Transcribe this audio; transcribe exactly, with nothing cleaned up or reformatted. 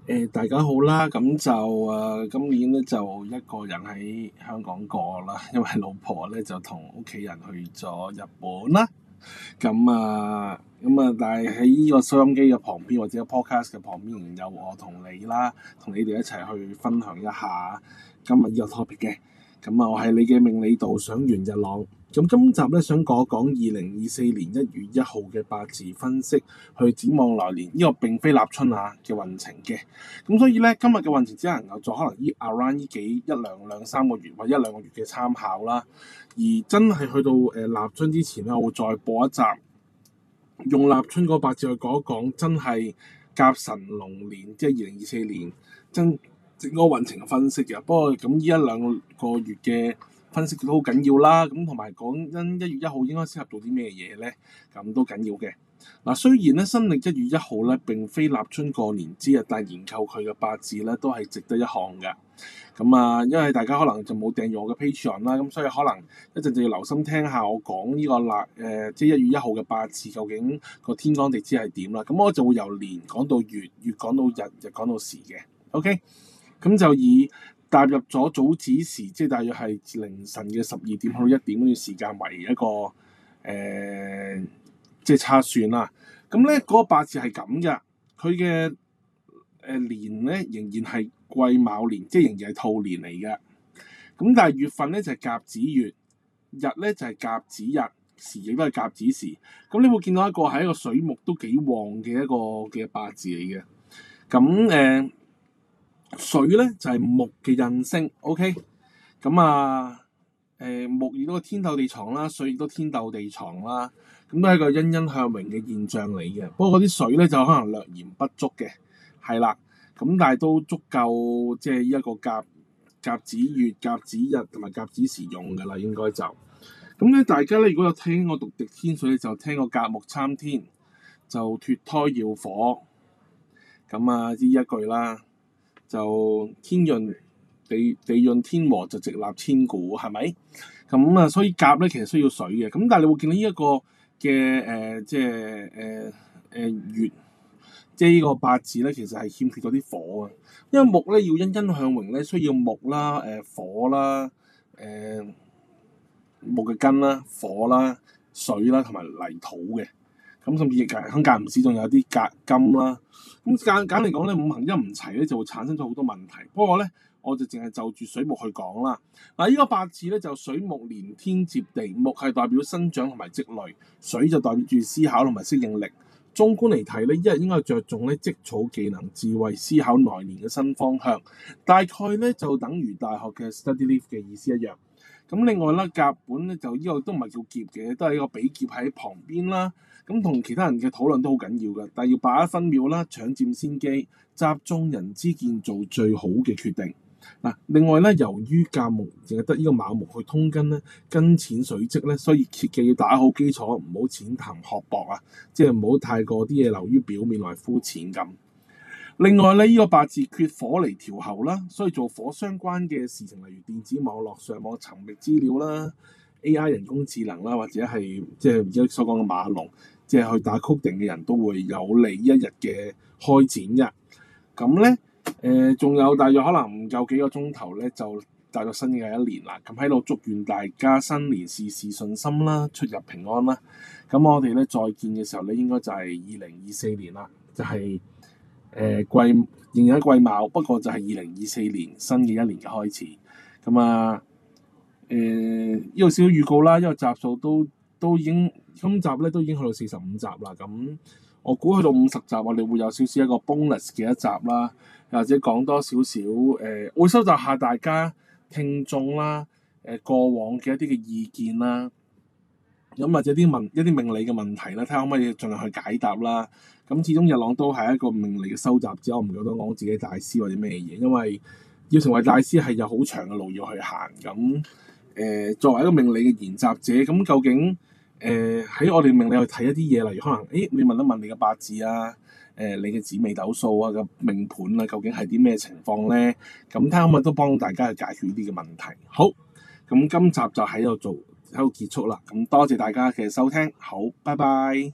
誒、大家好啦，咁就誒、呃今年咧就一個人喺香港過啦，因為老婆咧就同屋企人去咗日本啦。咁啊，咁啊，但係喺呢個收音機嘅旁邊或者 podcast 嘅旁邊，仍然有我同你啦，同你哋一齊去分享一下今日呢個 topic 嘅。咁啊，我係你嘅命理導賞員日朗。咁今集咧想講一講二零二四年一月一號嘅八字分析，去展望來年。呢、這個並非立春啊嘅運程嘅。咁所以咧，今日嘅運程只能夠做可能依 around 呢幾一兩兩三個月或者一兩個月嘅參考啦。而真係去到誒、呃、立春之前咧，我會再播一集，用立春嗰八字去講一講，真係甲辰龍年，即係二零二四年真整個運程嘅分析嘅。不過咁呢一兩個月嘅分析都好緊要啦。咁同埋講因一月一號應該適合做啲咩嘢咧，咁都緊要嘅。嗱，雖然咧新曆一月一號咧並非立春過年之日，但係研究佢嘅八字咧都係值得一看嘅。咁啊，因為大家可能就冇訂閱我嘅 Patreon 啦，咁所以可能一陣就要留心聽下我講呢個立誒、呃，即係一月一號嘅八字究竟個天干地支係點啦。咁我就會由年講到月，月講到日，日講到時嘅。OK，咁就以踏入咗早子時，即係大約係凌晨嘅十二點去到一點嗰段時間為一個誒。呃即係測算啦，咁咧嗰個八字係咁嘅，佢嘅誒年咧仍然係癸卯年，即係仍然係兔年嚟嘅。咁但係月份咧就係、是、甲子月，日咧就係、是、甲子日，時亦都係甲子時。咁你會見到一個係一個水木都幾旺嘅一個嘅八字嚟嘅。咁誒、呃、水咧就係、是、木嘅印星 ，OK。咁啊〜誒、呃、木亦都天鬥地藏啦，水亦都天鬥地藏啦，咁都係一個欣欣向榮嘅現象嚟嘅。不過嗰啲水咧就可能略嫌不足嘅，係啦，咁但係都足夠即係一個甲甲子月、甲子日同埋甲子時用㗎啦，應該就咁咧。大家咧如果有聽我讀滴天水，就聽過甲木參天，就脫胎耀火，咁啊呢一句啦，就天潤。地地潤天和就直立千古，係咪？咁啊，所以甲咧其實需要水嘅。咁但係你會見到呢一個嘅誒、呃，即係誒誒月，即係呢個八字咧，其實係欠缺咗啲火啊。因為木咧要欣欣向榮咧，需要木啦、誒、呃、火啦、誒、呃、木嘅根啦、火啦、水啦同埋泥土嘅。咁甚至亦係間唔時仲有啲鉀金啦。咁簡簡嚟講咧，五行一唔齊咧，就會產生咗好多問題。不過咧，我就淨係就住水木去講啦。嗱，呢個八字咧就水木連天接地，木係代表生長同埋積累，水就代表住思考同埋適應力。縱觀嚟睇咧，一日應該着重咧積儲技能、智慧、思考來年嘅新方向。大概咧就等於大學嘅 study leave 嘅意思一樣。咁另外啦，甲本咧就呢個都唔係叫劫嘅，都係一個比劫喺旁邊啦。咁同其他人嘅討論都好緊要嘅，但係要把握分秒啦，搶佔先機，集眾人之見做最好嘅決定。嗱，另外咧，由於甲木淨係得呢個卯木去通根咧，根淺水積咧，所以切記要打好基礎，唔好淺談學博啊，即係唔好太過啲嘢流於表面來膚淺咁。另外咧，呢、這個八字缺火嚟調候啦，所以做火相關嘅事情，例如電子網絡上網尋覓資料啦、A I 人工智能啦，或者係即係而家所講嘅馬龍，即係去打 coding 嘅人都會有利一日嘅開展嘅。咁咧，誒、呃、仲有大約可能唔夠幾個鐘頭咧，就大約新嘅一年啦。咁喺度祝願大家新年事事順心啦，出入平安啦。咁我哋咧再見嘅時候咧，應該就係二零二四年啦，就係、是。誒癸仍然喺癸卯，不過就係二零二四年新嘅一年嘅開始。咁啊，誒呢個少少預告啦，因為集數都都已經今集咧都已經去到四十五集啦。咁我估去到五十集，我哋會有少少一個 bonus 嘅一集啦，或者講多少少誒，會收集下大家聽眾啦，誒、呃、過往嘅一啲嘅意見啦。咁或者啲問一啲命理嘅問題咧，睇下可唔可以盡量去解答啦。咁始終日朗都係一個命理嘅收集者，我唔覺得講自己大師或者咩嘢，因為要成為大師係有好長嘅路要去行。咁誒、呃，作為一個命理嘅研習者，咁究竟誒喺、呃、我哋命理去睇一啲嘢，例如可能誒你問一問你嘅八字啊，誒、呃、你嘅紫微斗數啊嘅命盤啊，究竟係啲咩情況咧？咁睇下可唔可以都幫大家去解決呢啲嘅問題。好，咁今集就喺度做。喺度結束啦，咁多謝大家嘅收聽，好，拜拜。